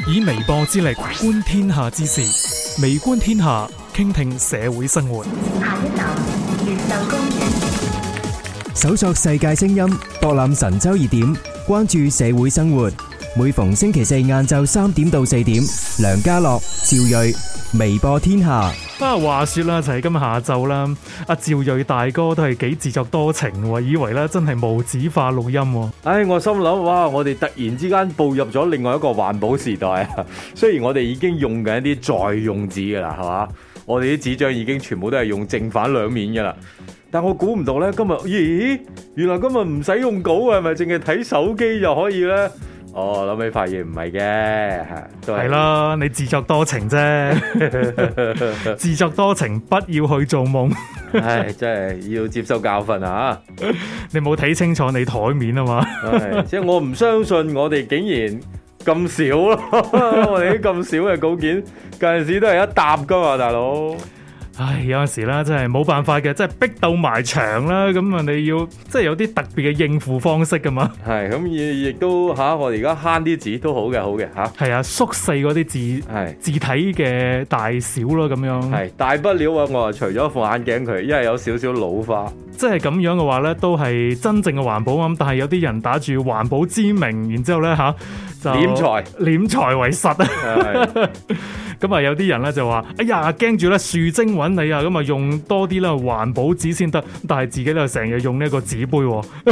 以微播之力觀天下之事，微觀天下，傾聽社會生活。 下一站越秀公園， 搜索世界聲音，博覽神州熱點，關注社會生活。每逢星期四晏晝3點到4點，梁家樂、趙睿，微播天下。 話說啦，就係今日下晝啦，阿趙睿大哥都係幾自作多情喎，以為咧真係無紙化錄音。 我心諗，哇！我哋突然之間步入咗另外一個環保時代啊！雖然我哋已經用緊一啲再用紙噶啦，係嘛？我哋啲紙張已經全部都係用正反兩面噶啦。但我估唔到咧，今日原來今日唔使用稿啊，係咪淨係睇手機就可以咧？諗起發現唔係嘅， 係啦，你自作多情啫，自作多情，不要去做夢。 唉，真係要接受教訓啊！ 你冇睇清楚你台面啊嘛？ 即係我唔相信我哋竟然咁少咯，我哋啲咁少嘅稿件，有陣時都係一沓噶嘛，大佬。 唉，有陣時啦，真係冇辦法嘅，即係逼到埋牆啦，咁啊你要即係有啲特別嘅應付方式噶嘛。 係咁亦都我哋而家慳啲紙都好嘅吓。 係啊，縮細嗰啲字體嘅大小咯，咁樣。 係大不了我除咗副眼鏡佢，因為有少少老花。 即係咁樣嘅話咧，都係真正嘅環保咁。但係有啲人打住環保之名，然之後咧就斂財為實啊。咁啊，有啲人咧就話：哎呀，驚住咧樹精揾你啊！咁啊，用多啲啦環保紙先得。但係自己咧成日用呢一個紙杯。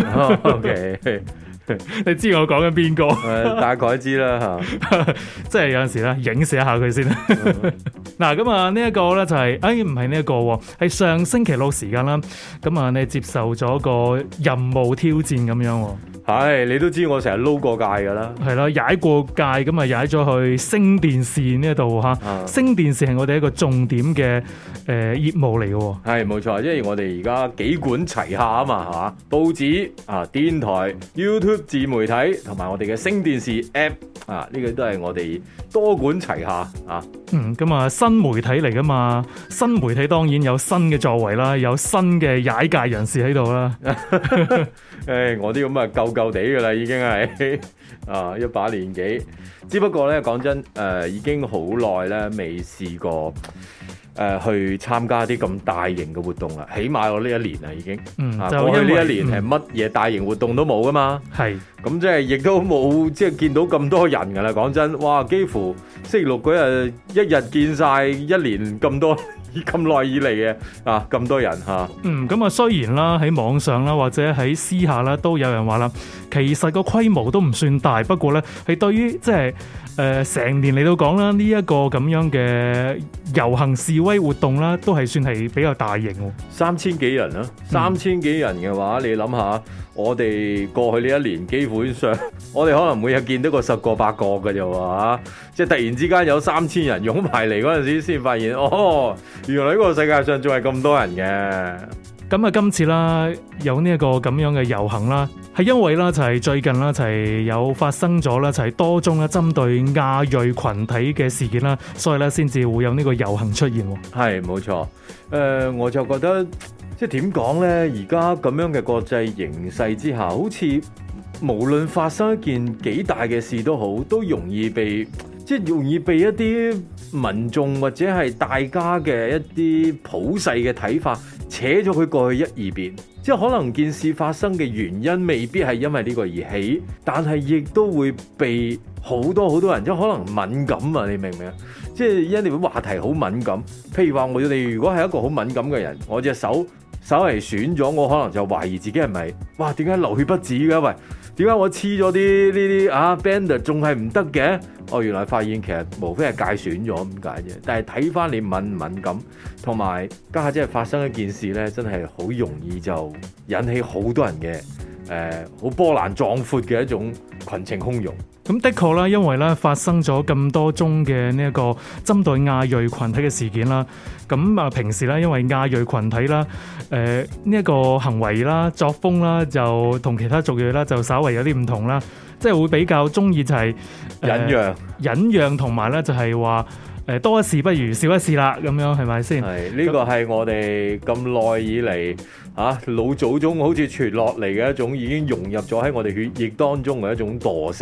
OK， 你知我講緊邊個？ 大概知啦嚇。 即係有陣時咧，影射一下佢先。嗱，咁啊，呢一個咧就係，唔係呢一個喎，係上星期六時間啦。咁啊，你接受咗個任務挑戰咁樣喎。 係，你都知我成日撈過界噶啦。係啦，踩過界咁啊，踩咗去星電視呢一度嚇。星電視係我哋一個重點嘅業務嚟嘅喎。係冇錯，因為我哋而家幾管齊下啊嘛，係嘛？報紙啊、電台、YouTube 自媒體同埋我哋嘅星電視 App 啊，呢個都係我哋多管齊下啊。 咁啊，新媒體嚟噶嘛？新媒體當然有新嘅作為啦，有新嘅踩界人士喺度啦。 我啲咁啊舊地噶啦，已經係一把年紀。只不過咧，講真，已經好耐咧未試過去參加啲咁大型嘅活動啦。起碼我呢一年啦，已經。過去呢一年係乜嘢大型活動都冇噶嘛。係。咁即係亦都冇即係見到咁多人噶啦。講真，哇！幾乎星期六嗰日一日見晒一年咁多。咁耐以嚟嘅咁多人嚇， 咁啊雖然啦喺網上啦或者喺私下啦都有人話啦，其實個規模都唔算大，不過咧係對於即係成年嚟到講啦，呢一個咁樣嘅遊行示威活動啦，都係算係比較大型喎。 3000幾人啦，3000幾人嘅話，你諗下，我哋過去呢一年基本上，我哋可能每日見到個10個8個嘅啫喎，即係突然之間有3000人湧埋嚟嗰陣時，先發現原來呢個世界上仲係咁多人嘅。 咁啊，今次啦有呢一個咁樣嘅遊行啦，係因為啦就係最近啦就係有發生咗啦就係多宗啦針對亞裔群體嘅事件啦，所以咧先至會有呢個遊行出現。 係冇錯，我就覺得即係點講咧？而家咁樣嘅國際形勢之下，好似無論發生一件幾大嘅事都好，都容易被一啲民眾或者係大家嘅一啲普世嘅睇法扯咗佢過去一二邊，即係可能件事發生嘅原因未必係因為呢個而起，但係亦都會被好多人即係可能敏感啊！你明唔明啊？即係因為話題好敏感，譬如話我哋如果係一個好敏感嘅人，我隻手稍為損咗，我可能就懷疑自己係咪點解流血不止嘅？喂，點解我黐咗啲呢啲band 仲係唔得嘅？原來發現其實無非係界損咗咁解啫。但係睇翻你敏唔敏感，同埋家下即係發生一件事咧，真係好容易就引起好多人嘅好波瀾壯闊嘅一種群情洶湧。 咁的確啦，因為咧發生咗咁多宗嘅呢一個針對亞裔群體嘅事件啦，咁啊平時咧因為亞裔群體啦，呢一個行為啦、作風啦，就同其他族裔啦就稍微有啲唔同啦，即係會比較中意就係忍讓，同埋咧就係話多一事不如少一事啦，咁樣係咪先？ 係呢個係我哋咁耐以嚟老祖宗好似傳落嚟嘅一種已經融入咗喺我哋血液當中嘅一種惰性。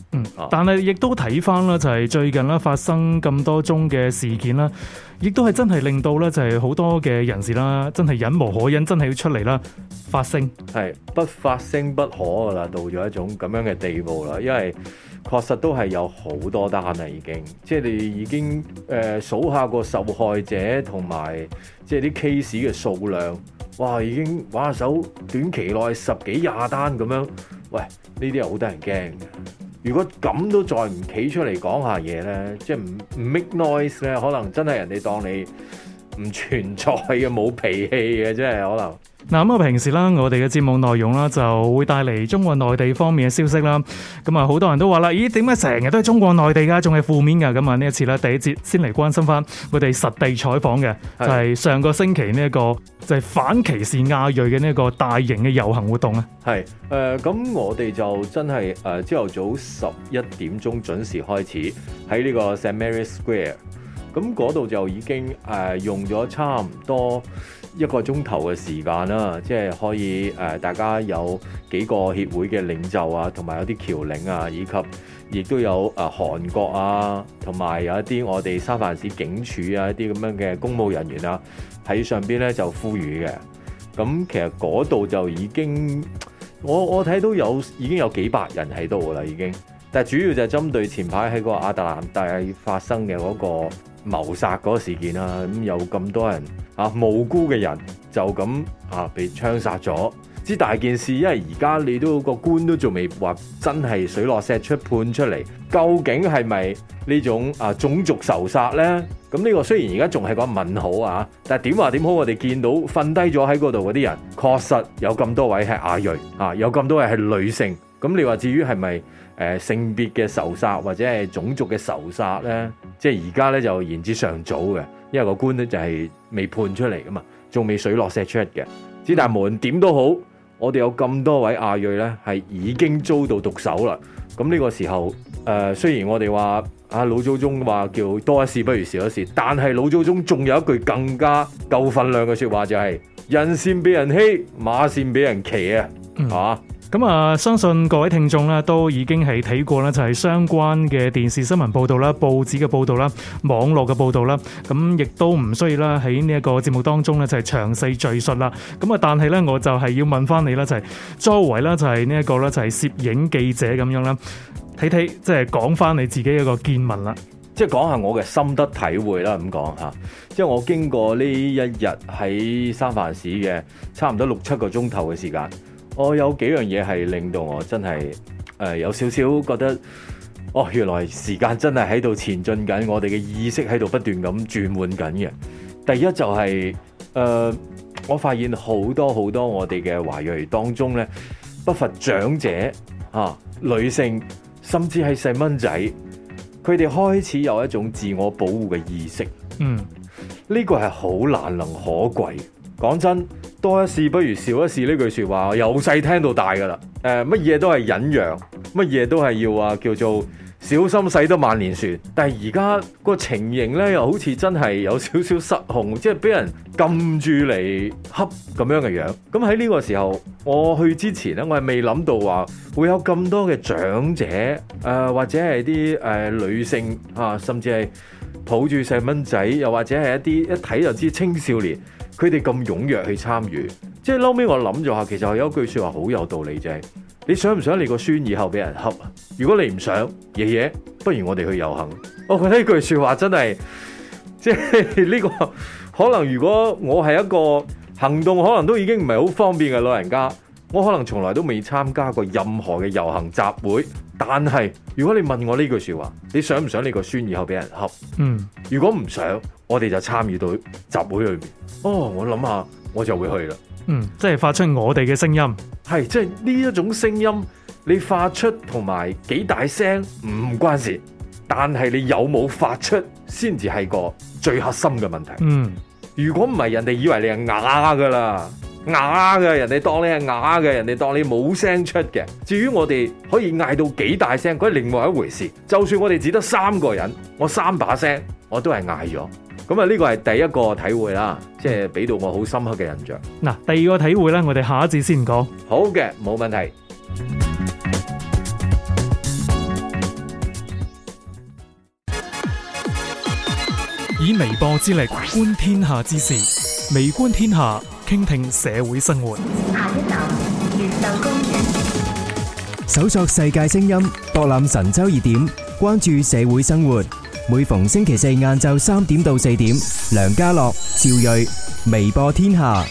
但係亦都睇翻啦，就係最近啦發生咁多宗嘅事件啦，亦都係真係令到咧就係好多嘅人士啦，真係忍無可忍，真係要出嚟啦發聲。 係不發聲不可噶啦，到咗一種咁樣嘅地步啦，因為確實都係有好多單啦，已經即係你已經數下個受害者同埋即係啲 case 嘅數量，哇已經玩下手短期內10幾20單咁樣，喂呢啲係好得人驚嘅。如果咁都再唔企出嚟講下嘢咧，即係唔 make noise 咧，可能真係人哋當你唔存在嘅，冇脾氣嘅，真係可能。 嗱咁啊，平時啦，我哋嘅節目內容啦，就會帶嚟中國內地方面嘅消息啦。咁啊，好多人都話啦，咦，點解成日都係中國內地㗎，仲係負面㗎？咁啊，呢一次咧，第一節先嚟關心翻我哋實地採訪嘅，就係上個星期呢一個就係反歧視亞裔嘅呢一個大型嘅遊行活動啊。 係咁我哋就真係朝頭早11點鐘準時開始喺呢個 St. Mary's Square。咁嗰度就已經用咗差唔多1個鐘頭嘅時間啦，即係可以大家有幾個協會嘅領袖啊，同埋有啲僑領啊，以及亦都有韓國啊，同埋有一啲我哋三藩市警署啊一啲咁樣嘅公務人員啊喺上邊咧就呼籲嘅。咁其實嗰度就已經我睇到已經有幾百人喺度噶啦已經，但係主要就係針對前排喺個亞特蘭大發生嘅嗰個謀殺嗰個事件啦，咁有咁多人無辜嘅人就咁被槍殺咗，之大件事，因為而家你都個官都仲未話真係水落石出判出嚟，究竟係咪呢種種族仇殺呢？咁呢個雖然而家仲係個問號啊，但係點話點好，我哋見到瞓低咗喺嗰度嗰啲人，確實有咁多位係亞裔有咁多位係女性，咁你話至於係咪性別嘅仇殺或者係種族嘅仇殺呢？即係而家咧就言之尚早嘅，因為個官咧就係未判出嚟噶嘛，仲未水落石出嘅。之但無論點都好，我哋有咁多位亞裔咧係已經遭到毒手啦。咁呢個時候雖然我哋話老祖宗話叫多一事不如少一事，但係老祖宗仲有一句更加夠分量嘅説話，就係人善被人欺，馬善被人騎啊，係嘛？ 咁啊，相信各位聽眾咧都已經係睇過啦，就係相關嘅電視新聞報導啦、報紙嘅報導啦、網絡嘅報導啦，咁亦都唔需要啦喺呢一個節目當中咧就係詳細敘述啦。咁啊，但係咧我就係要問翻你啦，就係作為啦就係呢一個咧就係攝影記者咁樣啦，睇即係講翻你自己一個見聞啦。 即係講下我嘅心得體會啦，咁講嚇。即係我經過呢一日喺三藩市嘅差唔多6-7個鐘頭嘅時間。我有幾樣嘢係令到我真係有少少覺得，原來時間真係喺度前進緊，我哋嘅意識喺度不斷咁轉換緊嘅。第一就係我發現好多我哋嘅華裔當中咧，不乏長者女性，甚至係細蚊仔，佢哋開始有一種自我保護嘅意識。呢個係好難能可貴。講真，多一事不如少一事呢句說話，由細聽到大噶啦。乜嘢都係忍讓，乜嘢都係要叫做小心駛得萬年船。但係而家個情形咧，又好似真係有少少失控，即係俾人撳住嚟恰咁樣嘅樣。咁喺呢個時候，我去之前咧，我係未諗到話會有咁多嘅長者，或者係啲女性甚至係抱住細蚊仔，又或者係一啲一睇就知青少年。佢哋咁踴躍去參與，即係後尾我諗咗下，其實有一句説話好有道理，就係你想唔想你個孫以後俾人恰啊？如果你唔想，爺爺，不如我哋去遊行。我覺得呢句説話真係，即係呢個可能如果我係一個行動可能都已經唔係好方便嘅老人家，我可能從來都未參加過任何嘅遊行集會。但係如果你問我呢句説話，你想唔想你個孫以後俾人恰？如果唔想，我哋就參與到集會裏面。我諗下，我就會去啦。 即係發出我哋嘅聲音。 係，即係呢一種聲音，你發出同埋幾大聲唔關事，但係你有冇發出先至係個最核心嘅問題。如果唔係，人哋以為你係啞噶啦，啞嘅，人哋當你係啞嘅，人哋當你冇聲出嘅。至於我哋可以嗌到幾大聲，嗰係另外一回事。就算我哋只得3個人，我3把聲，我都係嗌咗。咁呢個係第一個體會啦，即係俾到我好深刻嘅印象。 嗱，第二個體會咧，我哋下一節先講。 好嘅，冇問題。 以微播之力觀天下之事，微觀天下，傾聽社會生活。 下一站，越秀公園。 搜索世界聲音，博覽神州熱點，關注社會生活。每逢星期四晏晝3點到4點，梁家樂、趙睿，微播天下。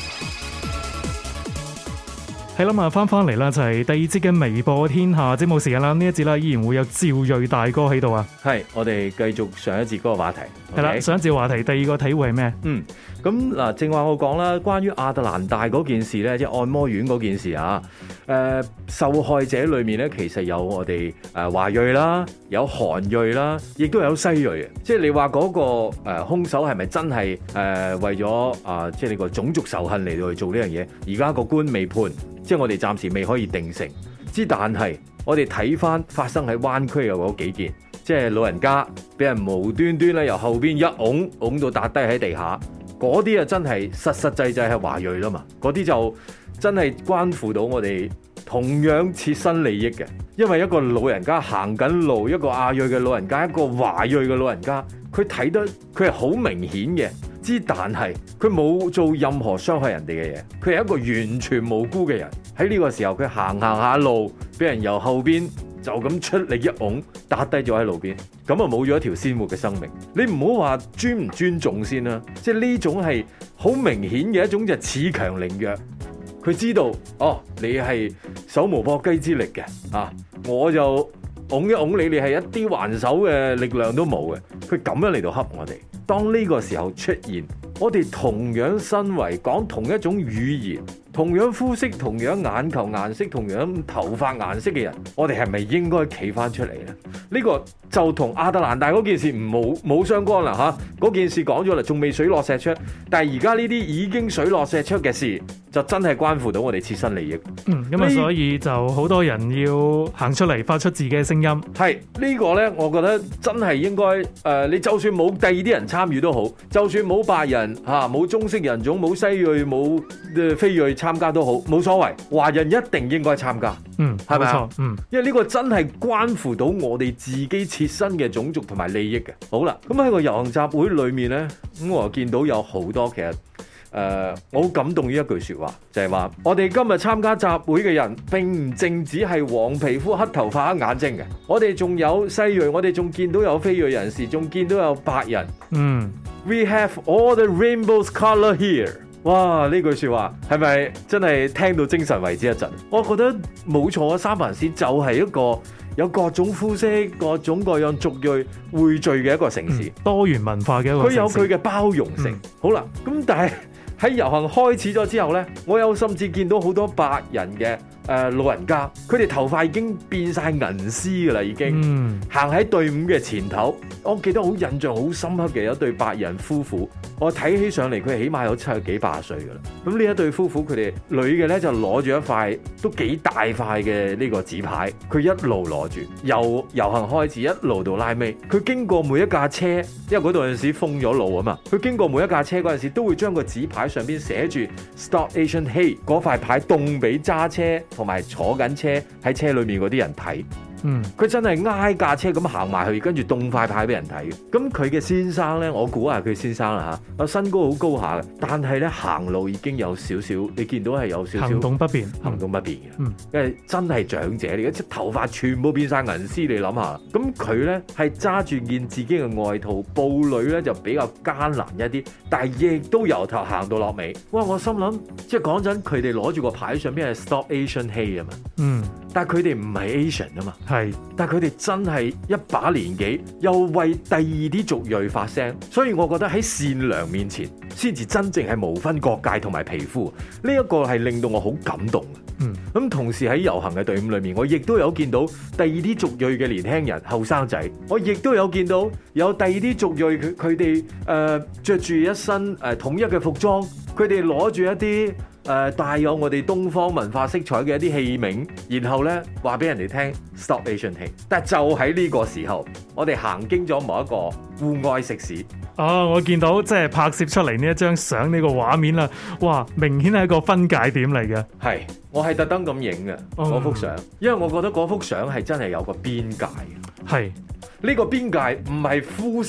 係啦，咁翻嚟啦，就係第二節嘅微播天下節目時間啦。呢一節啦，依然會有趙睿大哥喺度啊。 係，我哋繼續上一節嗰個話題。 係啦， OK？ 上一節話題，第二個體會係咩？ 咁嗱，正話我講啦，關於亞特蘭大嗰件事咧，即係按摩院嗰件事啊。受害者裏面咧，其實有我哋華裔啦，有韓裔啦，亦都有西裔嘅。即係你話嗰個兇手係咪真係為咗即係呢個種族仇恨嚟到去做呢樣嘢？而家個官未判，即係我哋暫時未可以定性。但係我哋睇翻發生喺灣區嘅嗰幾件，即係老人家俾人無端端咧由後邊一擁到笪低喺地下，嗰啲啊真係實際係華裔啦嘛，嗰啲就真係關乎到我哋同樣切身利益嘅，因為一個老人家行緊路，一個亞裔嘅老人家，一個華裔嘅老人家，佢睇得佢係好明顯嘅，但係佢冇做任何傷害人哋嘅嘢，佢係一個完全無辜嘅人。喺呢個時候佢行下路，俾人由後邊就咁出力一擁，打低咗喺路邊，咁啊冇咗一條鮮活嘅生命。你唔好話尊唔尊重先啦，即係呢種係好明顯嘅一種就恃強凌弱。佢知道你係手無縛雞之力嘅我就擁一擁你，你係一啲還手嘅力量都冇嘅。佢咁樣嚟到恰我哋。當呢個時候出現，我哋同樣身為講同一種語言、同樣膚色、同樣眼球顏色、同樣頭髮顏色嘅人，我哋係咪應該企翻出嚟呢？呢個就同亞特蘭大嗰件事冇相干啦嚇。嗰件事講咗啦，仲未水落石出，但係而家呢啲已經水落石出嘅事，就真係關乎到我哋切身利益。 咁啊，所以就好多人要行出嚟發出自己嘅聲音。 係呢個呢，我覺得真係應該你就算冇第二啲人參與都好，就算冇白人冇中式人種、冇西裔、冇非裔參加都好，冇所謂。華人一定應該參加。係咪啊？因為呢個真係關乎到我哋自己切身嘅種族同埋利益嘅。好啦，咁喺個遊行集會裏面呢，咁我見到有好多其實我好感動於一句說話，就係話我哋今日參加集會嘅人並唔淨止係黃皮膚、黑頭髮、黑眼睛嘅，我哋仲有西裔，我哋仲見到有非裔人士，仲見到有白人。We have all the rainbow's color here。哇！呢句說話係咪真係聽到精神為之一振？我覺得冇錯啊，三藩市就係一個有各種膚色、各種各樣族裔匯聚嘅一個城市， 多元文化嘅一個城市。 佢有佢嘅包容性。好啦，咁但係喺遊行開始咗之後呢，我有甚至見到好多白人嘅老人家，佢哋頭髮已經變晒銀絲噶啦，已經行喺隊伍嘅前頭。我記得好印象好深刻嘅有一對白人夫婦，我睇起上嚟佢起碼有70幾80歲噶啦。咁呢一對夫婦，佢哋女嘅呢就攞住一塊都幾大塊嘅呢個紙牌，佢一路攞住由遊行開始一路到拉尾，佢經過每一架車，因為嗰度陣時封咗路啊嘛，佢經過每一架車嗰陣時都會將個紙牌上邊寫住 Stop Asian Hate 嗰塊牌，凍俾揸車同埋坐緊車喺車裏面嗰啲人睇。佢真係挨架車咁行埋去，跟住凍塊牌俾人睇。咁佢嘅先生呢，我估下佢先生啦嚇，身高好高下嘅，但係呢行路已經有少少，你見到係有少少行動不便嘅，因為真係長者嚟嘅，即頭髮全部變晒銀絲，你諗下。咁佢呢係揸住件自己嘅外套，步履呢就比較艱難一啲，但係亦都由頭行到落尾。哇！我心諗，即係講真，佢哋攞住個牌上邊係 Stop Asian Hate 啊嘛，但係佢哋唔係 Asian 啊嘛。但係佢哋真係一把年紀，又為第二啲族裔發聲，所以我覺得喺善良面前，先至真正係無分國界同埋皮膚。呢一個係令到我好感動嘅。咁同時喺遊行嘅隊伍裏面，我亦都有見到第二啲族裔嘅年輕人、後生仔，我亦都有見到有第二啲族裔佢哋着住一身統一嘅服裝，佢哋攞住一啲帶有我哋東方文化色彩嘅一啲器皿，然後呢話俾人哋聽 Stop Asian Hate。但係就喺呢個時候，我哋行經咗某一個戶外食肆。 我見到即係拍攝出嚟呢一張相呢個畫面啦，哇！明顯係一個分界點嚟嘅。 係，我係特登咁影嘅嗰幅相，因為我覺得嗰幅相係真係有個邊界嘅。 係。 呢個邊界唔係膚色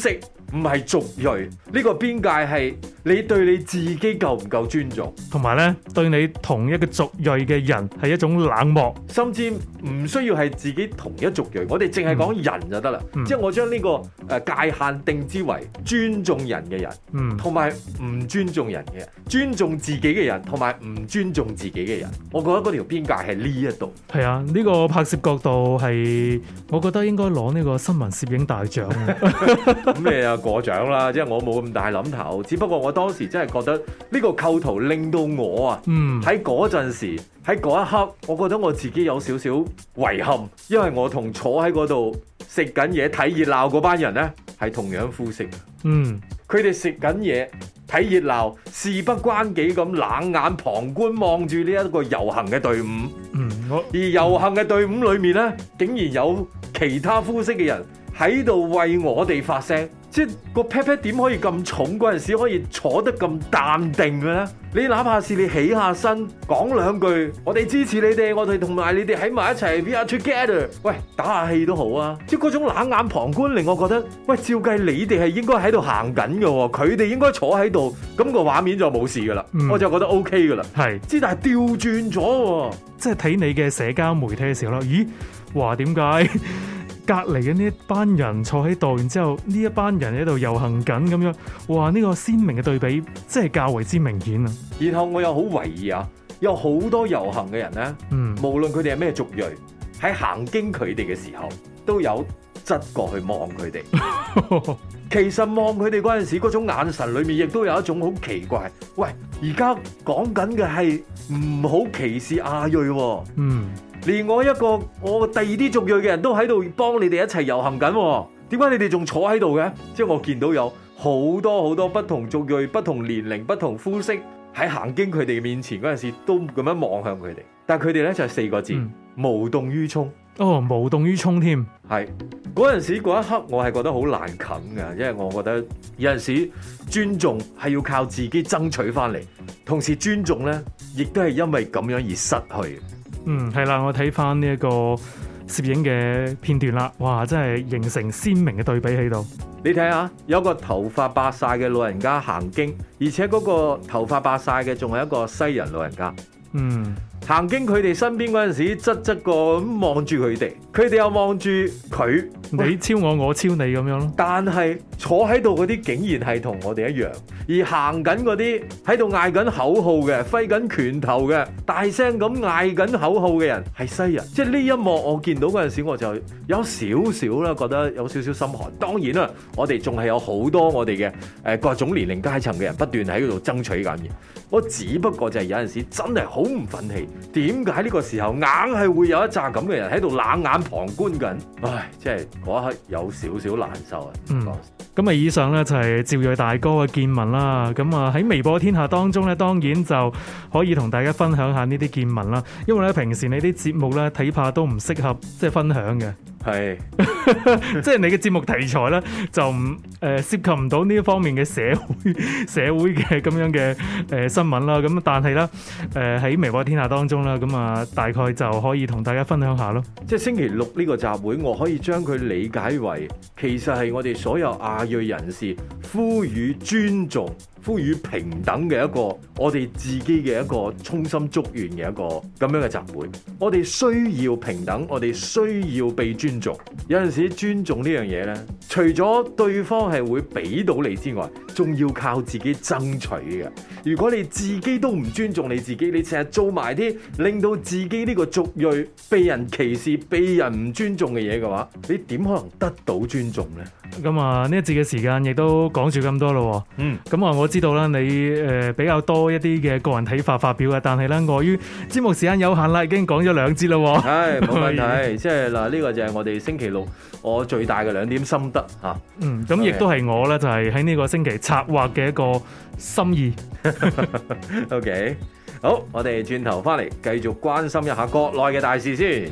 唔係族裔，呢個邊界係你對你自己夠唔夠尊重， 同埋咧對你同一個族裔嘅人係一種冷漠， 甚至唔需要係自己同一族裔，我哋淨係講人就得啦。即係我將呢個界限定之為尊重人嘅人，同埋唔尊重人嘅人，尊重自己嘅人，同埋唔尊重自己嘅人。我覺得嗰條邊界係呢一度。 係啊，呢個拍攝角度係，我覺得應該攞呢個新聞攝影大獎。 咁你又過獎啦，即係我冇咁大諗頭，只不過我當時真係覺得呢個構圖令到我啊，喺嗰陣時喺嗰一刻，我覺得我自己有少少遺憾，因為我同坐喺嗰度食緊嘢睇熱鬧嗰班人呢，係同樣膚色。佢哋食緊嘢睇熱鬧，事不關己咁冷眼旁觀望住呢一個遊行嘅隊伍。而遊行嘅隊伍裏面呢，竟然有其他膚色嘅人喺度為我哋發聲，即係個 pat pat 點可以咁重嗰陣時可以坐得咁淡定嘅咧？你哪怕是你起下身講兩句，我哋支持你哋，我哋同埋你哋喺埋一齊 ，we are together。喂，打下氣都好啊！即係嗰種冷眼旁觀令我覺得，喂，照計你哋係應該喺度行緊嘅喎，佢哋應該坐喺度，咁個畫面就冇事噶啦，我就覺得 OK 噶啦。係，之但係調轉咗喎，即係睇你嘅社交媒體嘅時候啦，咦？話點解？隔離嘅呢一班人坐喺度，然之後呢一班人喺度遊行緊咁樣，哇！呢個鮮明嘅對比，真係較為之明顯啊！然後我又好懷疑啊，有好多遊行嘅人咧，無論佢哋係咩族裔，喺行經佢哋嘅時候，都有側過去望佢哋。其實望佢哋嗰陣時，嗰種眼神裏面亦都有一種好奇怪。喂，而家講緊嘅係唔好歧視亞裔喎。連我第二啲族裔嘅人都喺度幫你哋一齊遊行緊，點解你哋仲坐喺度嘅？即係我見到有好多不同族裔、不同年齡、不同膚色喺行經佢哋面前嗰陣時，都咁樣望向佢哋。但係佢哋咧就係4個字：無動於衷。哦，無動於衷添。係嗰陣時嗰一刻，我係覺得好難啃㗎，因為我覺得有陣時尊重係要靠自己爭取翻嚟，同時尊重咧亦都係因為咁樣而失去。係啦，我睇翻呢一個攝影嘅片段啦，哇，真係形成鮮明嘅對比喺度。你睇下，有個頭髮白晒嘅老人家行經，而且嗰個頭髮白晒嘅仲係一個西人老人家。行經佢哋身邊嗰陣時，側個咁望住佢哋，佢哋又望住佢，你超我，我超你咁樣咯。但係坐喺度嗰啲竟然係同我哋一樣，而行緊嗰啲喺度嗌緊口號嘅、揮緊拳頭嘅、大聲咁嗌緊口號嘅人係西人。即係呢一幕我見到嗰陣時，我就有少少啦，覺得有少少心寒。當然啦，我哋仲係有好多我哋嘅各種年齡階層嘅人不斷喺度爭取緊嘅。我只不過就係有陣時真係好唔忿氣，點解呢個時候硬係會有一紮咁嘅人喺度冷眼旁觀緊？唉，即係嗰一刻有少少難受啊！咁啊，以上咧就係趙睿大哥嘅見聞啦。咁啊喺微博天下當中咧，當然就可以同大家分享下呢啲見聞啦。因為咧平時你啲節目咧睇怕都唔適合即係分享嘅。係，即係你嘅節目題材咧就唔涉及唔到呢一方面嘅社會嘅咁樣嘅新聞啦。咁但係咧喺微博天下當中啦，咁啊大概就可以同大家分享下咯。即係星期六呢個集會，我可以將佢理解為其實係我哋所有亞裔人士呼籲尊重、呼籲平等嘅一個我哋自己嘅一個衷心祝願嘅一個咁樣嘅集會。我哋需要平等，我哋需要被尊重。有陣時尊重呢樣嘢呢，除咗對方係會俾到你之外，仲要靠自己爭取嘅。如果你自己都唔尊重你自己，你成日做埋啲令到自己呢個族裔被人歧視、被人唔尊重嘅嘢嘅話，你點可能得到尊重呢？咁啊，呢一節嘅時間亦都講住咁多咯。咁啊，我知道啦，你比較多一啲嘅個人睇法發表嘅，但係咧，礙於節目時間有限啦，已經講咗2節啦。係冇問題，即係嗱，呢個就係我哋星期六我最大嘅2點心得嚇。咁亦都係我咧，就係喺呢個星期策劃嘅一個心意。OK，好，我哋轉頭翻嚟繼續關心一下國內嘅大事先。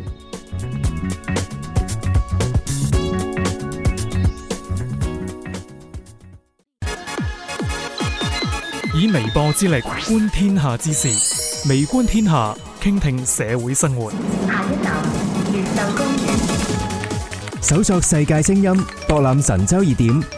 以微博之力觀天下之事，微觀天下，傾聽社會生活。 下一站，越秀公園。 搜索世界聲音，博覽神州熱點，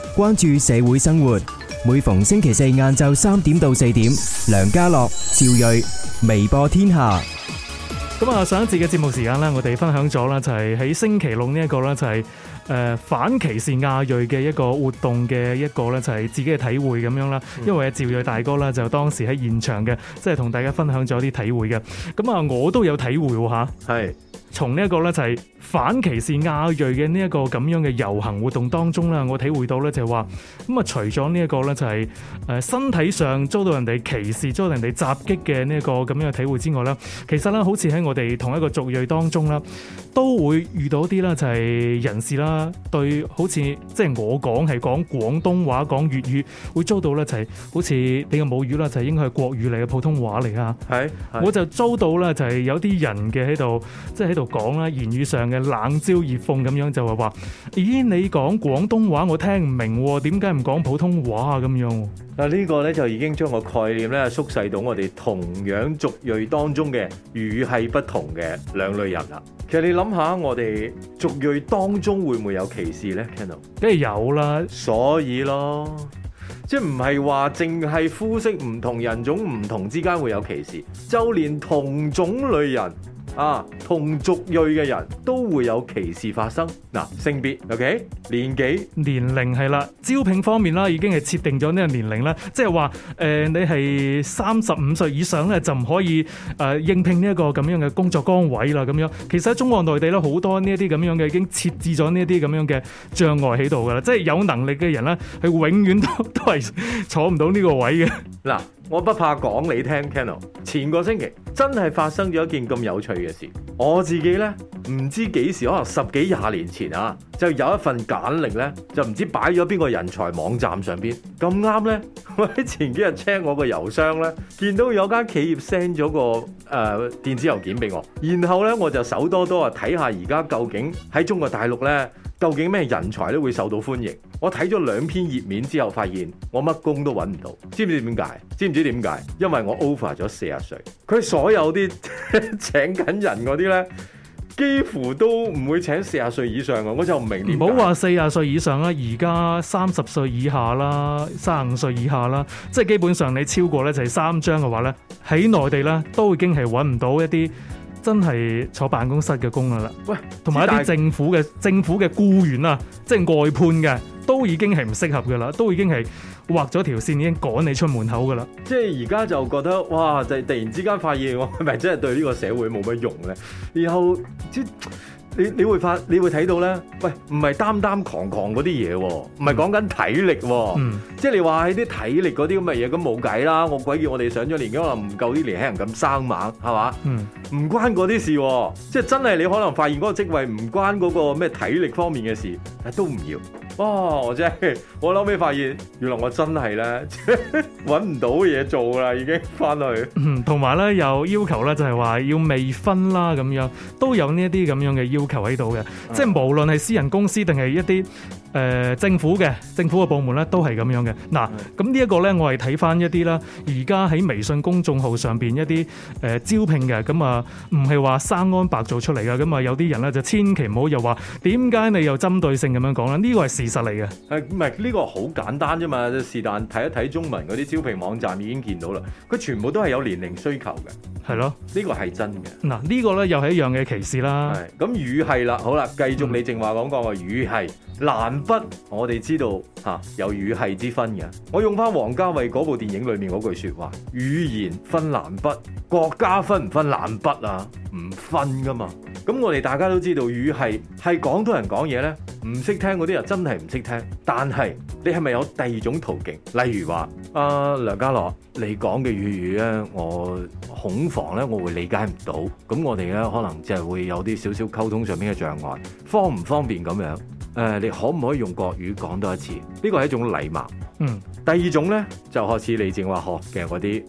關注社會生活。每逢星期四晏晝3點到4點，梁家樂、趙睿，微播天下。 咁啊，上一節嘅節目時間咧，我哋分享咗啦，就係喺星期六呢一個咧，就係反歧視亞裔嘅一個活動嘅一個咧，就係自己嘅體會咁樣啦。因為趙睿大哥啦，就當時喺現場嘅，即係同大家分享咗啲體會嘅。咁啊，我都有體會喎嚇。 係。 從呢一個咧就係反歧視亞裔嘅呢一個咁樣嘅遊行活動當中啦，我體會到咧就係話咁啊，除咗呢一個咧就係身體上遭到人哋歧視、遭到人哋襲擊嘅呢一個咁樣嘅體會之外啦，其實咧好似喺我哋同一個族裔當中啦，都會遇到啲啦就係人士啦，對好似即係我講係講廣東話、講粵語，會遭到咧就係好似你嘅母語啦，就係應該係國語嚟嘅普通話嚟啊。係，我就遭到咧就係有啲人嘅喺度，即係喺度講啦，言語上嘅冷嘲熱諷咁樣，就係話：咦，你講廣東話我聽唔明喎，點解唔講普通話啊？咁樣嗱，呢個咧就已經將個概念咧縮細到我哋同樣族裔當中嘅語系不同嘅兩類人啦。其實你諗下，我哋族裔當中會唔會有歧視咧 Ken？ 梗係有啦， 所以咯。即係唔係話淨係膚色唔同、人種唔同之間會有歧視，就連同種類人啊、同族裔嘅人都會有歧視發生。嗱，性別 OK， 年紀、 年齡係啦，招聘方面啦，已經係設定咗呢個年齡啦，即係話你係35歲以上咧就唔可以應聘呢一個咁樣嘅工作崗位啦。咁樣其實喺中國內地咧好多呢一啲咁樣嘅已經設置咗呢一啲咁樣嘅障礙喺度噶啦，即係有能力嘅人咧係永遠都係坐唔到呢個位嘅。 嗱，我不怕講你聽 Ken， 前個星期真係發生咗一件咁有趣嘅事。我自己咧唔知幾時，可能10幾20年前啊，就有一份簡歷咧，就唔知擺咗邊個人才網站上邊。咁啱咧，我喺前幾日 check 我個郵箱咧，見到有間企業 send 咗個電子郵件俾我，然後咧我就手多多啊睇下而家究竟喺中國大陸咧，究竟咩人才都會受到歡迎。我睇咗2篇頁面之後，發現我乜工都揾唔到。知唔知點解？知唔知點解？因為我 over 咗40歲。佢所有啲請緊人嗰啲咧，幾乎都唔會請40歲以上嘅。我就唔明點解。唔好話40歲以上啦，而家30歲以下啦，35歲以下啦，即係基本上你超過咧就係3張嘅話咧，喺內地咧都已經係揾唔到一啲真係坐辦公室嘅工噶啦。喂，同埋一啲政府嘅僱員啊，即係外判嘅，都已經係唔適合噶啦，都已經係畫咗條線，已經趕你出門口噶啦。即係而家就覺得哇，就突然之間發現我係咪真係對呢個社會冇乜用咧？然後即你會睇到咧，喂，唔係擔狂嗰啲嘢喎，唔係講緊體力喎，即係你話喺啲體力嗰啲咁嘅嘢，咁冇計啦。我鬼叫我哋上咗年紀，可能唔夠啲年輕人咁生猛，係嘛？唔關嗰啲事喎，即係真係你可能發現嗰個職位唔關嗰個咩體力方面嘅事，但都唔要。哇！我真係我後尾發現，原來我真係咧揾唔到嘢做啦，已經翻去。 同埋咧有要求咧，就係話要未婚啦咁樣，都有呢一啲咁樣嘅要求喺度嘅。即係無論係私人公司定係一啲政府嘅部門咧，都係咁樣嘅。嗱，咁呢一個咧，我係睇翻一啲啦，而家喺微信公眾號上邊一啲招聘嘅，咁啊唔係話生安白做出嚟嘅，咁啊有啲人咧就千祈唔好又話點解你又針對性咁樣講啦？呢個係事實嚟嘅。 唔係呢個好簡單啫嘛，是但睇一睇中文嗰啲招聘網站已經見到啦，佢全部都係有年齡需求嘅。係咯，呢個係真嘅。嗱， 呢個咧又係一樣嘅歧視啦。 係咁語系啦，好啦，繼續你正話講過嘅語系。南北我哋知道有語系之分嘅。我用翻王家衛嗰部電影裏面嗰句說話，語言分南北，國家分唔分南北啊？唔分噶嘛。咁我哋大家都知道語系係廣東人講嘢呢，唔識聽嗰啲人真係唔識聽。但係你係咪有第二種途徑？例如話梁家樂，你講嘅粵語呢，我恐防呢，我會理解唔到。咁我哋呢，可能就係會有啲少少溝通上面嘅障礙，方唔方便咁樣？你可唔可以用國語講多一次？呢個係一種禮貌。第二種呢，就開始你正話學嘅嗰啲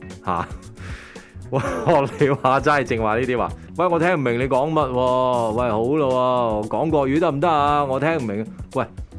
學你話齋正話呢啲話，喂，我聽唔明你講乜喎？喂，好咯，講國語得唔得啊？我聽唔明。喂，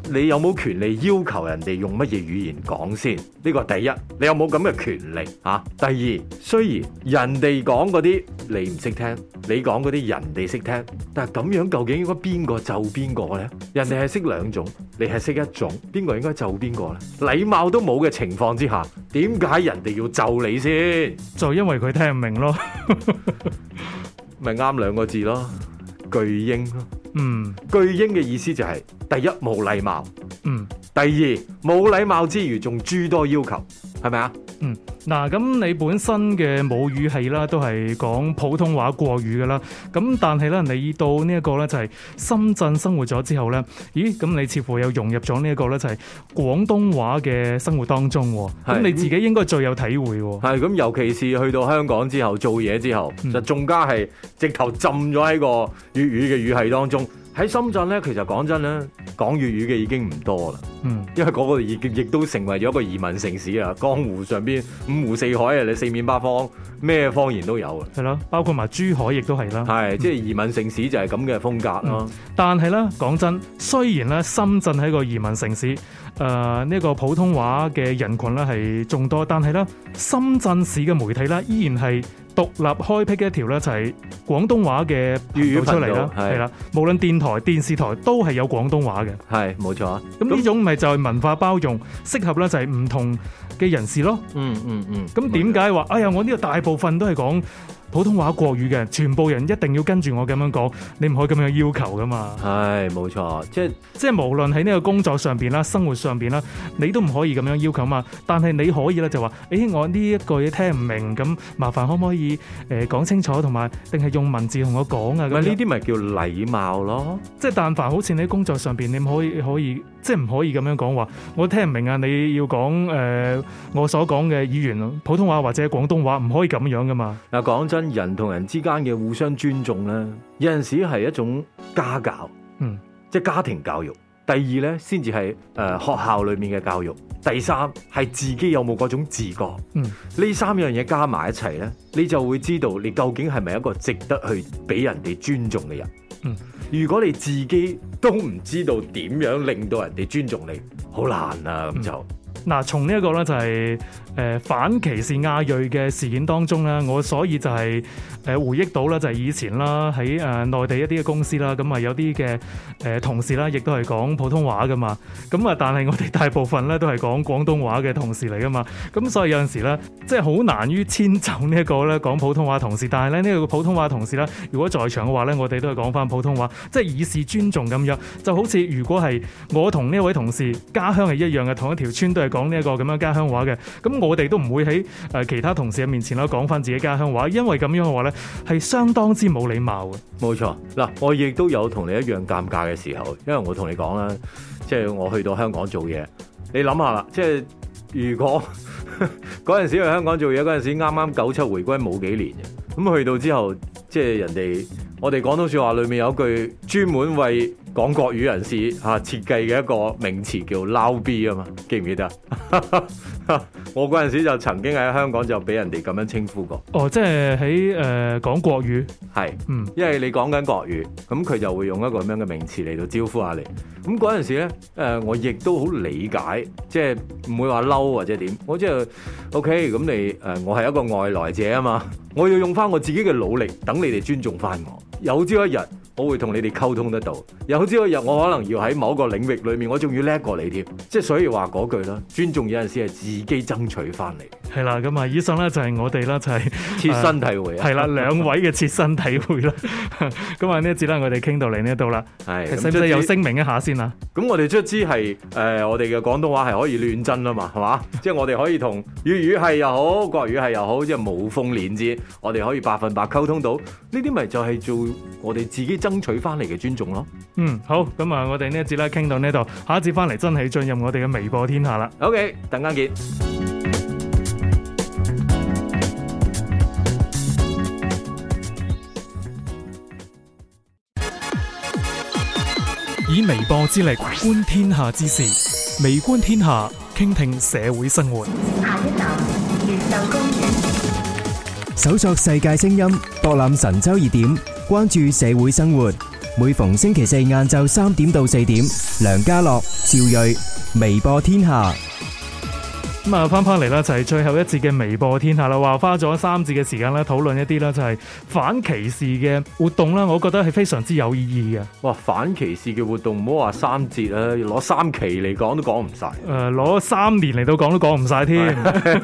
你有冇權利要求人哋用乜嘢語言講先？呢個第一，你有冇咁嘅權利啊？第二，雖然人哋講嗰啲你唔識聽，你講嗰啲人哋識聽，但係咁樣究竟應該邊個就邊個呢？人哋係識兩種，你係識一種，邊個應該就邊個呢？禮貌都冇嘅情況之下，點解人哋要就你先？ 就因為佢聽唔明咯。 咪啱兩個字咯，巨嬰咯。巨嬰嘅意思就係、第一冇禮貌，第二冇禮貌之餘仲諸多要求，係咪啊？ 嗱，咁你本身嘅母語系啦，都係講普通話國語噶啦。咁但係咧，你到呢一個咧就係深圳生活咗之後咧，咦？咁你似乎又融入咗呢一個咧就係廣東話嘅生活當中。咁你自己應該最有體會。 係咁，尤其是去到香港之後做嘢之後，就仲加係直頭浸咗喺個粵語嘅語系當中。喺深圳咧，其實講真咧，講粵語嘅已經唔多啦。因為嗰個亦都成為咗一個移民城市啊！江湖上邊五湖四海啊，你四面八方咩方言都有啊。係咯，包括埋珠海亦都係啦。 係，即係移民城市就係咁嘅風格咯。 但係咧，講真，雖然咧深圳係一個移民城市，呢個普通話嘅人群咧係眾多，但係咧深圳市嘅媒體咧依然係獨立開闢嘅一條咧就係廣東話嘅粵語出嚟啦，係啦，無論電台、電視台都係有廣東話嘅，係冇錯啊。咁呢種咪就係文化包容，適合咧就係唔同嘅人士咯。咁點解話哎呀我呢個大部分都係講普通話國語嘅，全部人一定要跟住我咁樣講，你唔可以咁樣要求噶嘛。係冇錯，即係無論喺呢個工作上邊啦、生活上邊啦，你都唔可以咁樣要求嘛。但係你可以咧就話，我呢一句聽唔明，咁麻煩可唔可以講清楚，同埋定係用文字同我講啊？咁呢啲咪叫禮貌咯。即係但凡好似你喺工作上邊，你可以即係唔可以咁樣講話，我聽唔明啊！你要講我所講嘅語言普通話或者廣東話，唔可以咁樣噶嘛。嗱，講真。人同人之間嘅互相尊重咧，有陣時係一種家教，即係家庭教育。第二咧，先至係學校裏面嘅教育。第三係自己有冇嗰種自覺。呢三樣嘢加埋一齊咧，你就會知道你究竟係咪一個值得去俾人哋尊重嘅人。如果你自己都唔知道點樣令到人哋尊重你，好難啊！咁就。嗱，從呢一個咧就係反歧視亞裔嘅事件當中咧，我所以就係回憶到啦，就係以前啦喺內地一啲嘅公司啦，咁啊有啲嘅同事啦，亦都係講普通話噶嘛，咁啊但係我哋大部分咧都係講廣東話嘅同事嚟噶嘛，咁所以有陣時咧即係好難於遷就呢一個咧講普通話同事，但係咧呢個普通話同事咧，如果在場嘅話咧，我哋都係講翻普通話，即係以示尊重咁樣，就好似如果係我同呢位同事家鄉係一樣嘅，同一條村都係講呢一個咁樣家鄉話嘅，咁我哋都唔會喺其他同事嘅面前啦講翻自己家鄉話，因為咁樣嘅話咧係相當之冇禮貌嘅。冇錯，嗱，我亦都有同你一樣尷尬嘅時候，因為我同你講啦，即係我去到香港做嘢，你諗下啦，即係如果嗰陣時去香港做嘢嗰陣時，啱啱97回歸冇幾年嘅，咁去到之後，即係人哋我哋廣東說話裏面有句專門為講國語人士設計嘅一個名詞叫撈 B 啊嘛，記唔記得？我嗰陣時就曾經喺香港就俾人哋咁樣稱呼過。哦，即係喺講國語，係，因為你講緊國語，咁佢就會用一個咁樣嘅名詞嚟到招呼下你。咁嗰陣時咧，我亦都好理解，即係唔會話嬲或者點。我即係 OK，咁你我係一個外來者啊嘛，我要用翻我自己嘅努力，等你哋尊重翻我。有朝一日，我會同你哋溝通得到。有朝一日，我可能要喺某個領域裏面，我仲要叻過你添。即係所以話嗰句啦，尊重有陣時係自己爭取翻嚟。係啦，咁啊，以上咧就係我哋啦，就係切身體會啊。係啦，兩位嘅切身體會啦。咁啊，呢一節咧，我哋傾到嚟呢度啦。係，使唔使有聲明一下先啊？咁我哋卒之係我哋嘅廣東話係可以亂真啊嘛，係嘛？即係我哋可以同粵語系又好，國語系又好，即係無縫連接，我哋可以100%溝通到。呢啲咪就係做我哋自己爭取翻嚟嘅尊重咯。好，咁啊，我哋呢一節咧傾到呢度，下一節翻嚟真係進入我哋嘅微播天下啦。OK， 等間見。 以微播之力觀天下之事，微觀天下，傾聽社會生活。 下一站，越秀公園。 搜索世界聲音，博覽神州熱點，關注社會生活。 每逢星期四晏晝3點到4點，梁家樂、趙睿，微播天下。 咁啊，翻嚟啦，就係最後一節嘅微播天下啦。話花咗3節嘅時間咧，討論一啲咧就係反歧視嘅活動啦。我覺得係非常之有意義嘅。 哇！反歧視嘅活動唔好話3節啊，攞3期嚟講都講唔晒。 攞3年嚟到講都講唔晒添。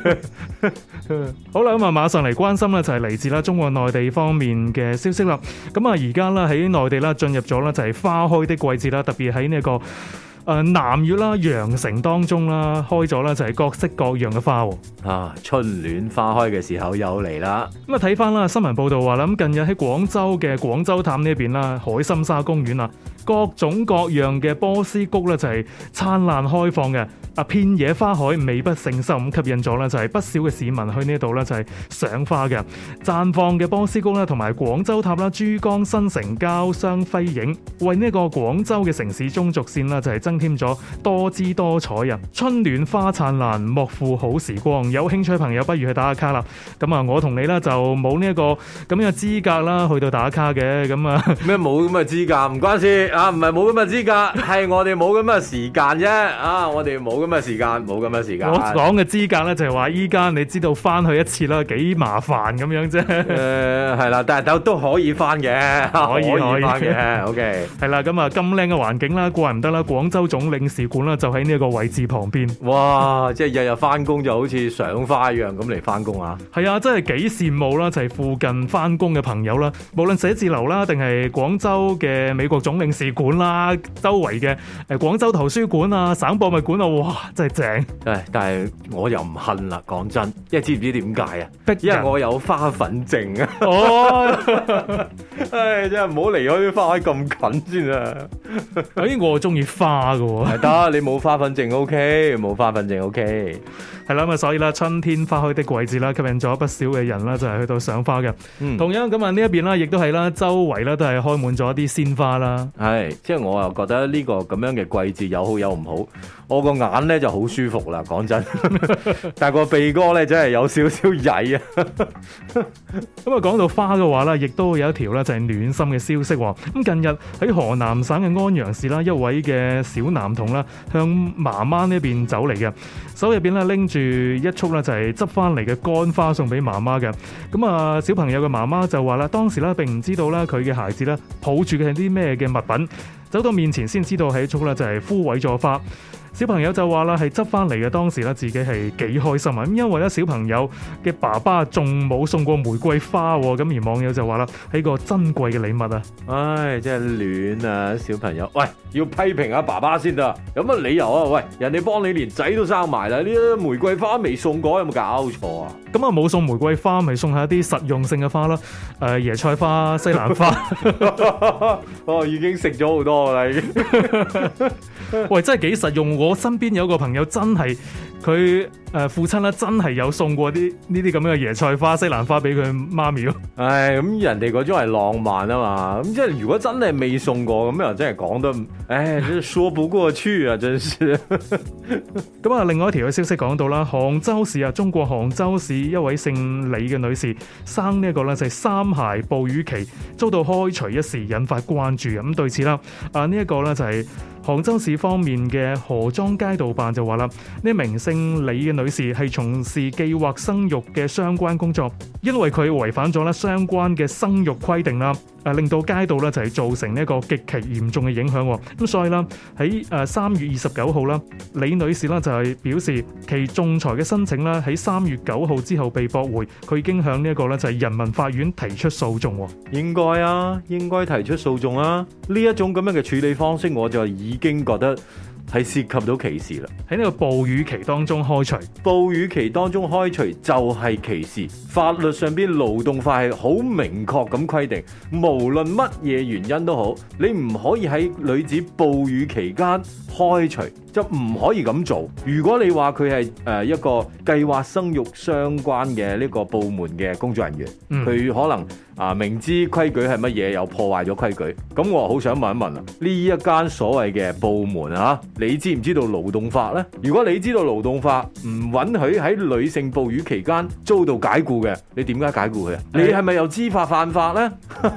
好啦，咁啊，馬上嚟關心咧就係嚟自啦中國內地方面嘅消息啦。咁啊，而家啦喺內地啦進入咗啦就係花開的季節啦，特別喺呢個南粵啦、羊城當中啦，開咗啦就係各式各樣嘅花喎。 春暖花開嘅時候又嚟啦。 咁啊睇翻啦新聞報道話啦，咁近日喺廣州嘅廣州塔呢邊啦，海心沙公園啊，各種各樣嘅波斯菊咧就係燦爛開放嘅。遍野花海，美不勝收，咁吸引咗咧就係不少嘅市民去呢度咧就係賞花嘅。綻放嘅波斯菊啦，同埋廣州塔啦、珠江新城交相輝映，為呢個廣州嘅城市中軸線啦就係增添咗多姿多彩啊！春暖花燦爛，莫負好時光。有興趣朋友不如去打下卡啦。咁啊，我同你咧就冇呢一個咁樣嘅資格啦，去到打卡嘅。咁啊咩冇咁嘅資格？唔關事啊，唔係冇咁嘅資格，係我哋冇咁嘅時間啫。啊，我哋冇咁嘅時間，冇咁嘅時間。 我講嘅資格咧就係話依家你知道翻去一次啦，幾麻煩咁樣啫。 係啦，但係都可以翻嘅，可以翻嘅。OK， 係啦，咁啊咁靚嘅環境啦，怪唔得啦，廣州總領事館啦就喺呢一個位置旁邊。 哇！即係日日翻工就好似賞花一樣咁嚟翻工啊！ 係啊，真係幾羨慕啦，就係附近翻工嘅朋友啦，無論寫字樓啦，定係廣州嘅美國總領事館啦，周圍嘅廣州圖書館啊、省博物館啊，哇！真係正。 但係我又唔恨啦，講真，因為知唔知點解啊？ 因為我有花粉症啊！ 哦， 真係唔好離開啲花海咁近先啊！ 我中意花㗎喎。 得，你冇花粉症 OK， 冇花粉症 OK。 係啦，咁啊，所以啦，春天花開的季節啦，吸引咗不少嘅人啦，就係去到賞花嘅。同樣咁啊，呢一邊啦，亦都係啦，周圍啦都係開滿咗一啲鮮花啦。 係，即係我又覺得呢個咁樣嘅季節有好有唔好。我個眼咧就好舒服啦，講真。但係個鼻哥咧真係有少少曳啊。 咁啊，講到花嘅話啦，亦都有一條咧就係暖心嘅消息。咁近日喺河南省嘅安陽市啦，一位嘅小男童啦，向媽媽呢邊走嚟嘅，手入邊咧拎住一束咧就係執翻嚟嘅乾花送俾媽媽嘅。咁啊，小朋友嘅媽媽就話啦，當時咧並唔知道啦佢嘅孩子咧抱住嘅係啲咩嘅物品，走到面前先知道係一束咧就係枯萎咗花。小朋友就話啦，係執翻嚟嘅，當時咧自己係幾開心啊！咁因為咧小朋友嘅爸爸仲冇送過玫瑰花喎，咁而網友就話啦，係個珍貴嘅禮物啊！ 唉，真係暖啊！小朋友，喂，要批評下爸爸先得，有乜理由啊？喂，人哋幫你連仔都生埋啦，呢啲玫瑰花未送過，有冇搞錯啊？ 咁啊冇送玫瑰花，咪送下一啲實用性嘅花啦，椰菜花、西蘭花。 哦，已經食咗好多啦，已經。 喂，真係幾實用！我身邊有個朋友真係佢父親咧，真係有送過啲呢啲咁樣嘅椰菜花、西蘭花俾佢媽咪咯。 唉，咁人哋嗰種係浪漫啊嘛，咁即係如果真係未送過，咁又真係講得，唉，真係說不過去啊，真是。 咁啊，另外一條嘅消息講到啦，杭州市啊，中國杭州市一位姓李嘅女士生呢一個咧就係三孩哺乳期，遭到開除一事，引發關注。咁對此啦，呢一個咧就係杭州市方面嘅河莊街道辦就話啦，呢名姓李嘅女士係從事計劃生育嘅相關工作，因為佢違反咗咧相關嘅生育規定啦，令到街道咧就係造成呢一個極其嚴重嘅影響。咁所以啦，喺3月29號啦，李女士啦就係表示其仲裁嘅申請啦喺3月9號之後被駁回，佢已經向呢一個咧就係人民法院提出訴訟。 應該啊，應該提出訴訟啊！呢一種咁樣嘅處理方式，我就已經覺得係涉及到歧視啦。 喺呢個哺乳期當中開除， 哺乳期當中開除就係歧視。法律上邊勞動法係好明確咁規定，無論乜嘢原因都好，你唔可以喺女子哺乳期間開除，就唔可以咁做。如果你話佢係一個計劃生育相關嘅呢個部門嘅工作人員，佢可能明知規矩係乜嘢，又破壞咗規矩，咁我好想問一問啊，呢一間所謂嘅部門啊，你知唔知道勞動法呢？如果你知道勞動法唔允許喺女性哺乳期間遭到解僱嘅，你點解解僱佢啊？你係咪又知法犯法呢？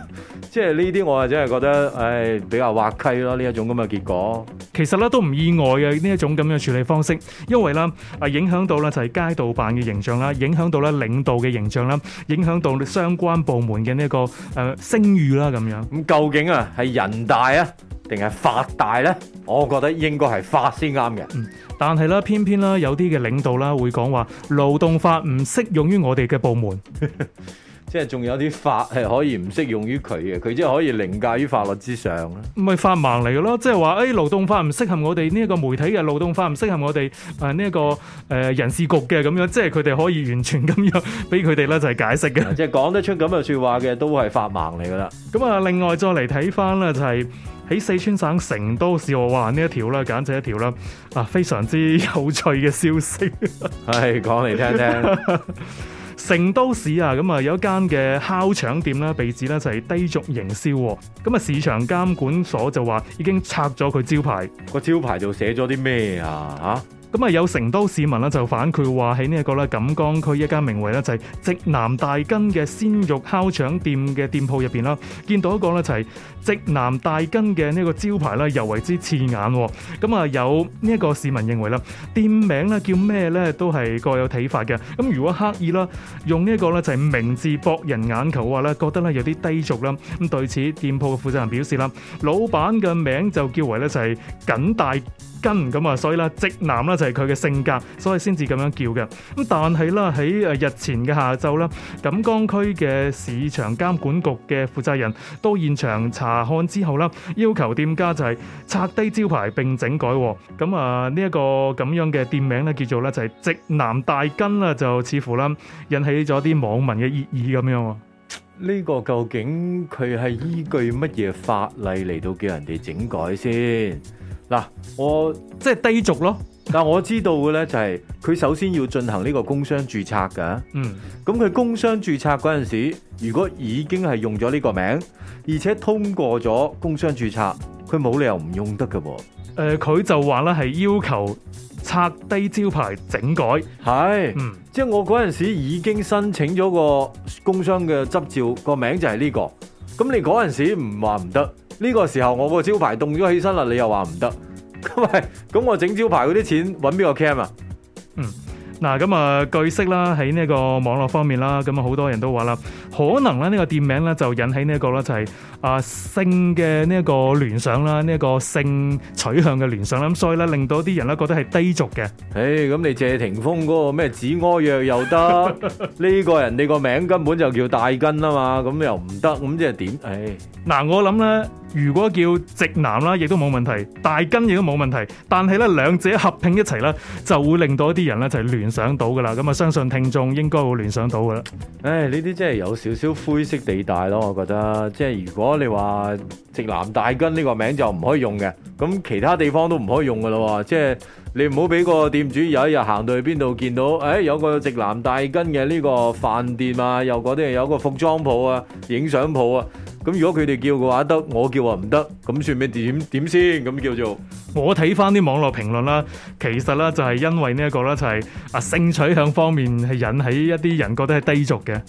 即係呢啲我係真係覺得，比較滑稽咯，呢一種咁嘅結果。 其實咧都唔意外嘅呢一種咁樣處理方式，因為啦影響到咧就係街道辦嘅形象啦，影響到咧領導嘅形象啦，影響到相關部門嘅呢個聲譽啦咁樣。 咁究竟啊係人大啊定係法大呢？我覺得應該係法先啱嘅。 但係啦，偏偏啦有啲嘅領導啦會講話勞動法唔適用於我哋嘅部門。 即係仲有啲法係可以唔適用於佢嘅，佢即係可以凌駕於法律之上啦。 唔係法盲嚟嘅咯，即係話勞動法唔適合我哋呢一個媒體嘅，勞動法唔適合我哋呢一個人事局嘅咁樣，即係佢哋可以完全咁樣俾佢哋咧就係解釋嘅。 即係講得出咁嘅説話嘅都係法盲嚟㗎啦。 咁啊，另外再嚟睇翻咧就係喺四川省成都市，我話呢一條啦，簡直一條啦非常之有趣嘅消息。 係講嚟聽聽。 成都市啊，咁啊有一間嘅烤腸店啦，被指咧就係低俗營銷，咁啊市場監管所就話已經拆咗佢招牌， 個招牌就寫咗啲咩啊？ 咁啊有成都市民咧就反饋話喺呢一個咧錦江區一間名為咧就係直男大根嘅鮮肉烤腸店嘅店鋪入邊啦，見到一個咧就係直男大根嘅呢個招牌咧尤為之刺眼，咁啊有呢一個市民認為啦，店名咧叫咩咧都係各有睇法嘅，咁如果刻意啦用呢一個咧就係名字博人眼球嘅話咧，覺得咧有啲低俗啦，咁對此店鋪嘅負責人表示啦，老闆嘅名就叫為咧就係緊大根咁啊，所以啦直男啦就係佢嘅性格，所以先至咁樣叫嘅。咁但係啦喺日前嘅下晝啦，錦江區嘅市場監管局嘅負責人到現場查看之後啦，要求店家就係拆低招牌並整改。咁啊呢一個咁樣嘅店名咧叫做咧就係直男大根啦，就似乎啦引起咗啲網民嘅熱議咁樣。 呢個究竟佢係依據乜嘢法例嚟到叫人哋整改先？嗱，我即係低俗咯。 但我知道嘅咧就係佢首先要進行呢個工商註冊㗎。咁佢工商註冊嗰陣時，如果已經係用咗呢個名，而且通過咗工商註冊，佢冇理由唔用得㗎喎。 佢就話咧係要求拆低招牌整改。 係，即係我嗰陣時已經申請咗個工商嘅執照，個名就係呢個。咁你嗰陣時唔話唔得，呢個時候我個招牌動咗起身啦，你又話唔得，咁我整招牌嗰啲錢揾邊個 cam 啊？ 嗱，咁啊，據悉啦，喺呢個網絡方面啦，咁啊好多人都話啦，可能咧呢個店名咧就引起呢一個咧就係性嘅呢一個聯想啦，呢一個性取向嘅聯想啦，咁所以咧令到啲人咧覺得係低俗嘅。 咁你謝霆鋒嗰個咩止屙藥又得，呢個人哋個名根本就叫大根啊嘛，咁又唔得，咁即係點？ 嗱，我諗咧，如果叫直男啦，亦都冇問題，大根亦都冇問題，但係咧兩者合併一齊咧，就會令到一啲人咧就係聯想到噶啦，咁啊相信聽眾應該會聯想到噶啦。 呢啲真係有少少灰色地帶咯，我覺得，即係如果你話直男大根呢個名就唔可以用嘅，咁其他地方都唔可以用噶啦，即係你唔好俾個店主有一日行到去邊度見到，有個直男大根嘅呢個飯店啊，又嗰啲有個服裝鋪啊、影相鋪啊。咁如果佢哋叫嘅話得，我叫話唔得，咁算咩點先？咁叫做我睇翻啲網絡評論啦，其實咧就係因為呢一個咧就係性取向方面係引起一啲人覺得係低俗嘅。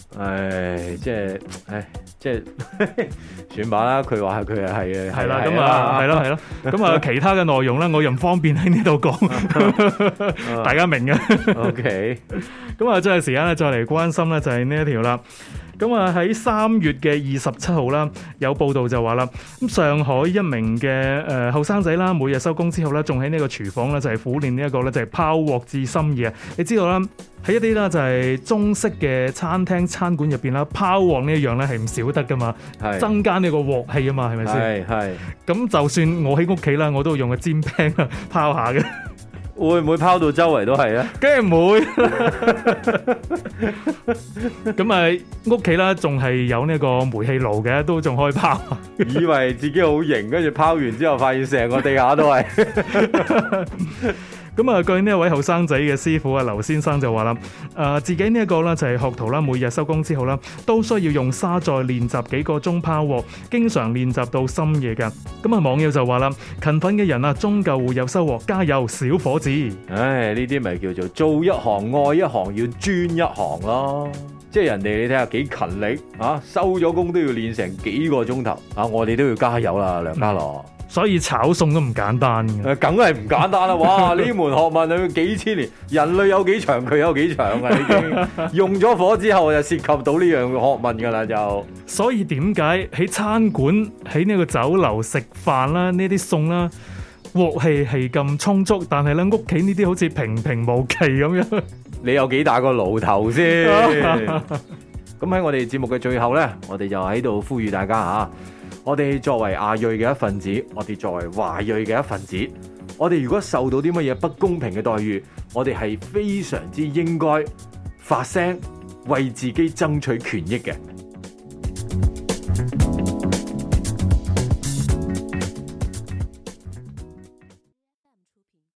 即係算吧啦，佢話佢係係啦，咁啊係咯，咁啊其他嘅內容咧，我又唔方便喺呢度講，大家明嘅。 OK， 咁啊，最後時間咧再嚟關心咧就係呢一條啦。咁啊喺3月嘅27號啦，有報道就話啦，咁上海一名嘅後生仔啦，每日收工之後咧，仲喺呢個廚房咧就係苦練呢一個咧就係拋鑊至深夜。你知道啦，喺一啲啦就係中式嘅餐廳餐館入邊啦，拋鑊呢一樣咧係唔少得噶嘛，增加呢個鑊氣啊嘛，係咪先？係。咁就算我喺屋企啦，我都會用個煎餅啊拋下嘅。 會唔會拋到周圍都係啊？ 梗係唔會。咁啊，屋企啦，仲係有呢個煤氣爐嘅，都仲可以拋。 以為自己好型，跟住拋完之後，發現成個地下都係。 咁啊，據呢一位後生仔嘅師傅啊，劉先生就話啦，自己呢一個咧就係學徒啦，每日收工之後啦，都需要用沙再練習幾個鐘拋鑊，經常練習到深夜㗎。咁啊，網友就話啦，勤奮嘅人啊，終究會有收穫，加油，小伙子！ 呢啲咪叫做做一行愛一行，要專一行咯。 即係人哋你睇下幾勤力啊，收咗工都要練成幾個鐘頭啊！我哋都要加油啦，梁家樂。 所以炒餸都唔簡單嘅。 梗係唔簡單啦！哇，呢門學問要幾千年，人類有幾長，佢有幾長啊！已經用咗火之後，就涉及到呢樣學問㗎啦，就。 所以點解喺餐館、喺呢個酒樓食飯啦，呢啲餸啦，鑊氣係咁充足，但係咧屋企呢啲好似平平無奇咁樣。 你有幾大個爐頭先？咁喺我哋節目嘅最後呢，我哋就喺度呼籲大家嚇。我哋作為亞裔嘅一份子，我哋作為華裔嘅一份子，我哋如果受到啲乜嘢不公平嘅待遇，我哋係非常之應該發聲，為自己爭取權益嘅。